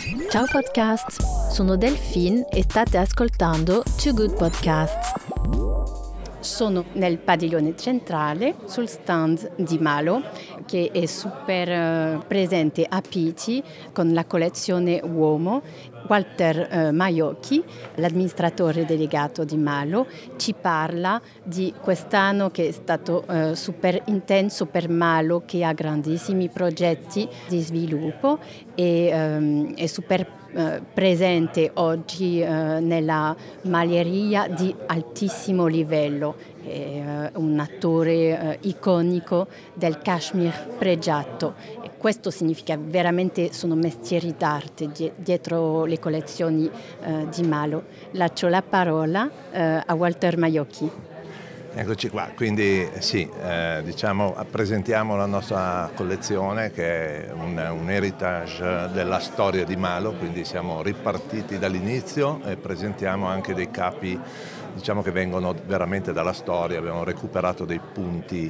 Ciao podcast, sono Delphine e state ascoltando Too Good Podcasts. Sono nel padiglione centrale sul stand di Malo, che è super presente a Pitti con la collezione Uomo. Walter Maiocchi, l'amministratore delegato di Malo, ci parla di quest'anno che è stato super intenso per Malo, che ha grandissimi progetti di sviluppo e è super presente oggi nella maglieria di altissimo livello. È un attore iconico del cashmere pregiato. E questo significa veramente sono mestieri d'arte dietro le collezioni di Malo. Lascio la parola a Walter Maiocchi. Eccoci qua, quindi sì, presentiamo la nostra collezione che è un heritage della storia di Malo, quindi siamo ripartiti dall'inizio e presentiamo anche dei capi che vengono veramente dalla storia. Abbiamo recuperato dei punti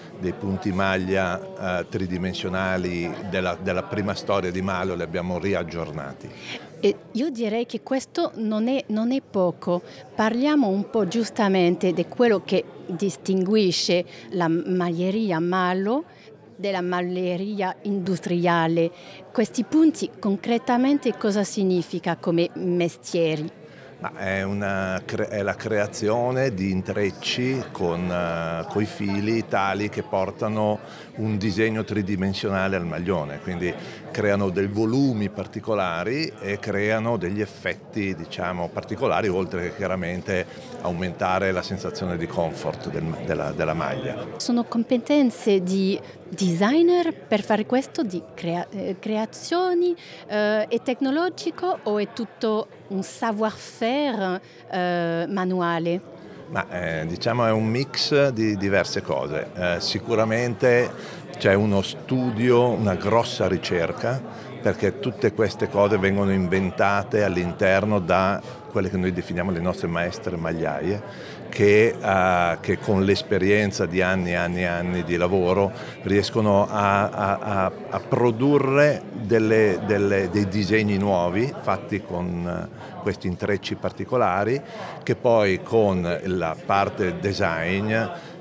maglia tridimensionali della prima storia di Malo, li abbiamo riaggiornati. E io direi che questo non è poco. Parliamo un po' giustamente di quello che distinguisce la maglieria Malo della maglieria industriale. Questi punti concretamente cosa significa come mestieri? Ma è la creazione di intrecci coi fili tali che portano un disegno tridimensionale al maglione, quindi creano dei volumi particolari e creano degli effetti particolari, oltre che chiaramente aumentare la sensazione di comfort della maglia. Sono competenze di designer per fare questo, di creazioni, è tecnologico o è tutto un savoir-faire manuale? Ma è un mix di diverse cose. Sicuramente c'è uno studio, una grossa ricerca, perché tutte queste cose vengono inventate all'interno da quelle che noi definiamo le nostre maestre magliaie, che con l'esperienza di anni e anni e anni di lavoro riescono a produrre dei disegni nuovi fatti con questi intrecci particolari, che poi con la parte design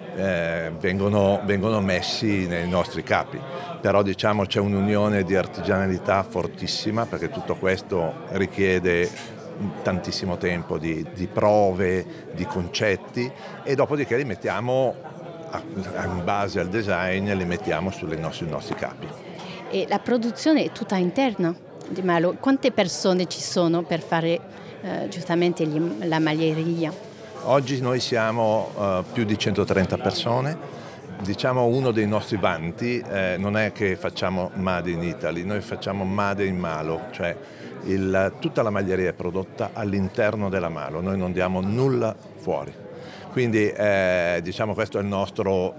vengono messi nei nostri capi. Però c'è un'unione di artigianalità fortissima, perché tutto questo richiede tantissimo tempo di prove, di concetti, e dopodiché li mettiamo in base al design, li mettiamo sui nostri capi. E la produzione è tutta interna di Malo. Quante persone ci sono per fare giustamente la maglieria? Oggi noi siamo più di 130 persone. Uno dei nostri vanti non è che facciamo Made in Italy, noi facciamo Made in Malo, cioè tutta la maglieria è prodotta all'interno della Malo, noi non diamo nulla fuori. Quindi questo è il nostro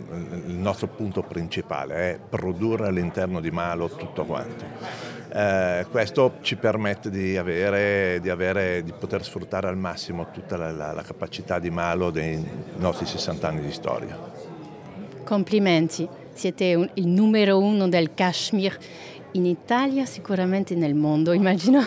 punto principale, è produrre all'interno di Malo tutto quanto. Questo ci permette di poter sfruttare al massimo tutta la capacità di Malo dei nostri 60 anni di storia. Complimenti, siete il numero uno del cashmere in Italia, sicuramente nel mondo, immagino.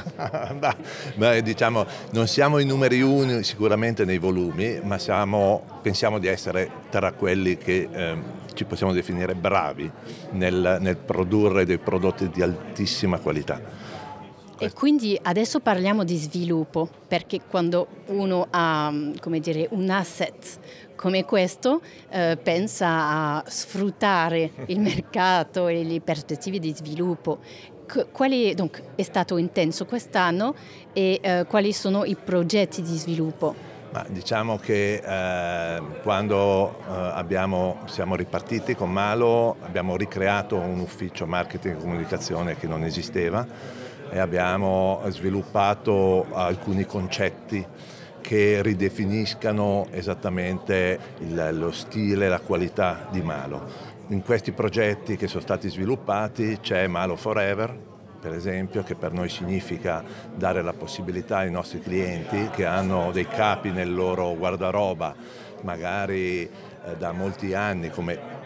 Non siamo i numeri uno sicuramente nei volumi, ma pensiamo di essere tra quelli che ci possiamo definire bravi nel produrre dei prodotti di altissima qualità. E quindi adesso parliamo di sviluppo, perché quando uno ha, un asset come questo, pensa a sfruttare il mercato e le prospettive di sviluppo. Quale è stato intenso quest'anno e quali sono i progetti di sviluppo? Ma diciamo che quando siamo ripartiti con Malo, abbiamo ricreato un ufficio marketing e comunicazione che non esisteva, e abbiamo sviluppato alcuni concetti che ridefiniscano esattamente lo stile e la qualità di Malo. In questi progetti che sono stati sviluppati c'è Malo Forever, per esempio, che per noi significa dare la possibilità ai nostri clienti che hanno dei capi nel loro guardaroba, magari da molti anni, come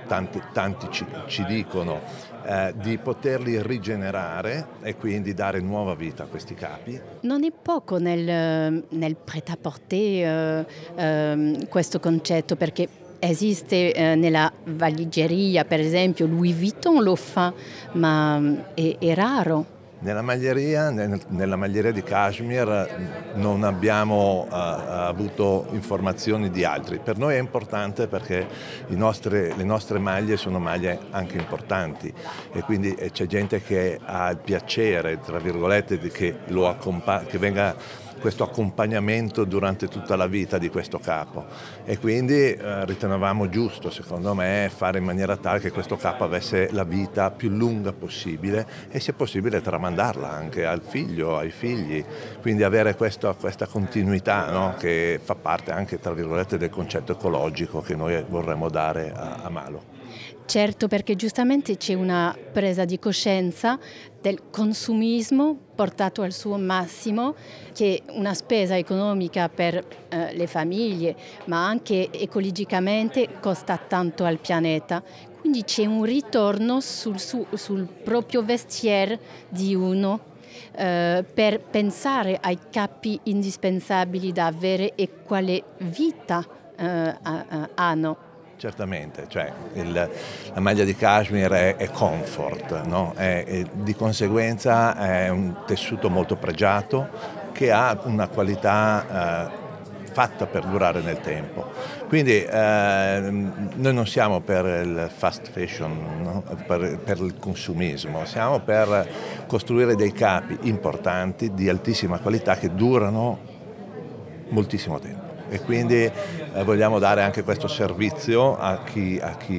tanti ci dicono di poterli rigenerare e quindi dare nuova vita a questi capi. Non è poco nel prêt-à-porter questo concetto, perché esiste nella valigeria, per esempio Louis Vuitton lo fa, ma è raro. Nella maglieria di Cashmere non abbiamo avuto informazioni di altri. Per noi è importante perché le nostre maglie sono maglie anche importanti e quindi c'è gente che ha il piacere, tra virgolette, che venga questo accompagnamento durante tutta la vita di questo capo e quindi ritenevamo giusto, secondo me, fare in maniera tale che questo capo avesse la vita più lunga possibile e se possibile tramandarla anche al figlio, ai figli, quindi avere questa continuità, no? Che fa parte anche, tra virgolette, del concetto ecologico che noi vorremmo dare a Malo. Certo, perché giustamente c'è una presa di coscienza del consumismo portato al suo massimo, che è una spesa economica per le famiglie, ma anche ecologicamente costa tanto al pianeta. Quindi c'è un ritorno sul proprio vestiaire di uno per pensare ai capi indispensabili da avere e quale vita hanno. Certamente, cioè la maglia di cashmere è comfort, no? Di conseguenza è un tessuto molto pregiato che ha una qualità fatta per durare nel tempo. Quindi noi non siamo per il fast fashion, no? per il consumismo, siamo per costruire dei capi importanti di altissima qualità che durano moltissimo tempo. E quindi vogliamo dare anche questo servizio a chi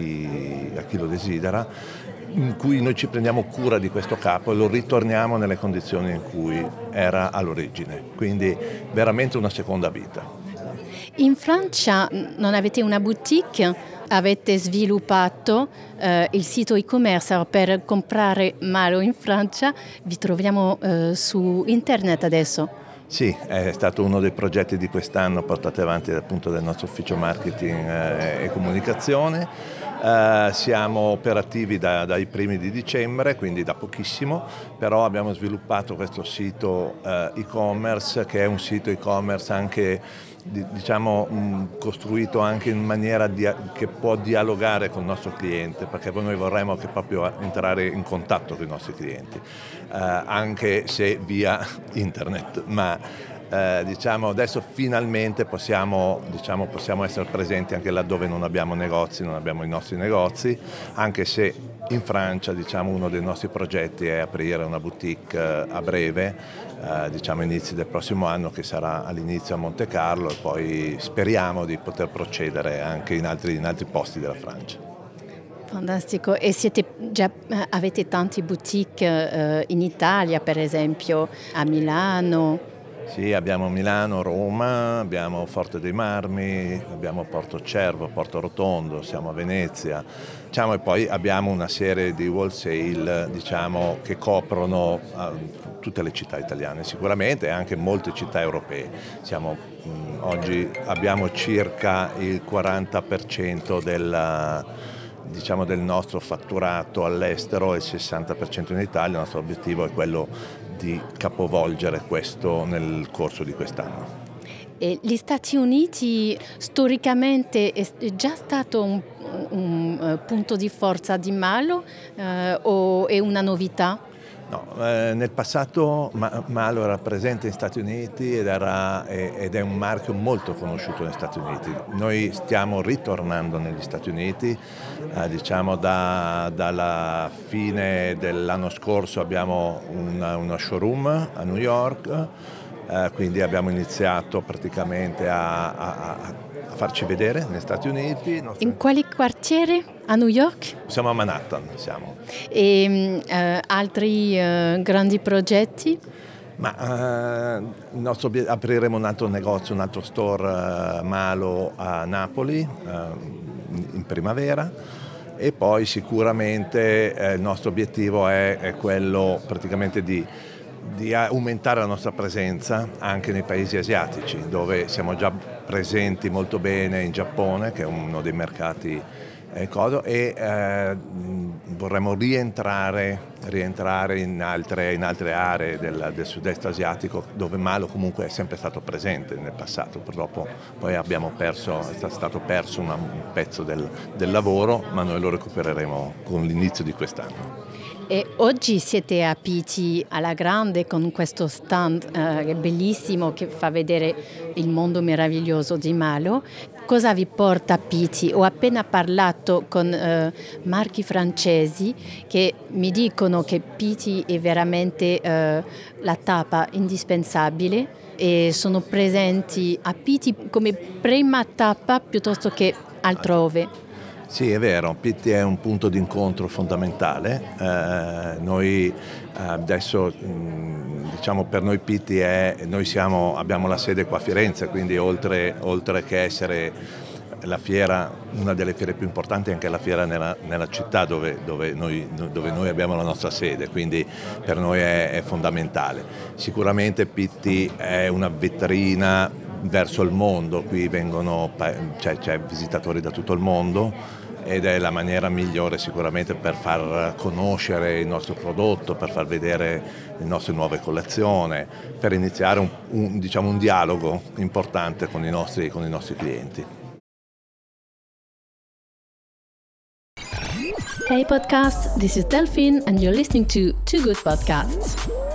lo desidera, in cui noi ci prendiamo cura di questo capo e lo ritorniamo nelle condizioni in cui era all'origine, quindi veramente una seconda vita. In Francia non avete una boutique, avete sviluppato il sito e-commerce per comprare Malo in Francia, vi troviamo su internet adesso. Sì, è stato uno dei progetti di quest'anno portati avanti appunto dal nostro ufficio marketing e comunicazione. Siamo operativi dai primi di dicembre, quindi da pochissimo, però abbiamo sviluppato questo sito e-commerce che è un sito e-commerce anche costruito anche in maniera che può dialogare con il nostro cliente, perché noi vorremmo che proprio entrare in contatto con i nostri clienti, anche se via internet, ma adesso finalmente possiamo essere presenti anche laddove non abbiamo negozi, non abbiamo i nostri negozi, anche se in Francia uno dei nostri progetti è aprire una boutique a breve, inizi del prossimo anno, che sarà all'inizio a Monte Carlo e poi speriamo di poter procedere anche in altri posti della Francia. Fantastico, e avete tanti boutique in Italia, per esempio a Milano? Sì, abbiamo Milano, Roma, abbiamo Forte dei Marmi, abbiamo Porto Cervo, Porto Rotondo, siamo a Venezia, e poi abbiamo una serie di wholesale che coprono tutte le città italiane sicuramente e anche molte città europee. Oggi abbiamo circa il 40% del nostro fatturato all'estero e il 60% in Italia. Il nostro obiettivo è quello di capovolgere questo nel corso di quest'anno. E gli Stati Uniti storicamente è già stato un punto di forza di Malo o è una novità? No, nel passato Malo era presente negli Stati Uniti ed è un marchio molto conosciuto negli Stati Uniti. Noi stiamo ritornando negli Stati Uniti, dalla fine dell'anno scorso abbiamo una showroom a New York, quindi abbiamo iniziato praticamente a farci vedere negli Stati Uniti. In quale quartiere? A New York? Siamo a Manhattan. E altri grandi progetti? Apriremo un altro negozio, un altro store Malo a Napoli in primavera e poi sicuramente il nostro obiettivo è quello praticamente di aumentare la nostra presenza anche nei paesi asiatici, dove siamo già presenti molto bene in Giappone, che è uno dei mercati vorremmo rientrare in altre aree del sud-est asiatico, dove Malo comunque è sempre stato presente nel passato. Purtroppo poi è stato perso un pezzo del lavoro, ma noi lo recupereremo con l'inizio di quest'anno. E oggi siete a Pitti alla grande con questo stand che è bellissimo, che fa vedere il mondo meraviglioso di Malo. Cosa vi porta a Pitti? Ho appena parlato con marchi francesi che mi dicono che Pitti è veramente la tappa indispensabile e sono presenti a Pitti come prima tappa piuttosto che altrove. Sì, è vero, Pitti è un punto di incontro fondamentale. Noi adesso, diciamo, per noi Pitti abbiamo la sede qua a Firenze, quindi oltre che essere la fiera, una delle fiere più importanti, è anche la fiera nella città dove noi abbiamo la nostra sede, quindi per noi è fondamentale. Sicuramente Pitti è una vetrina verso il mondo, qui c'è visitatori da tutto il mondo ed è la maniera migliore sicuramente per far conoscere il nostro prodotto, per far vedere le nostre nuove collezioni, per iniziare un dialogo importante con i nostri clienti. Hey podcast, this is Delphine and you're listening to Too Good Podcasts.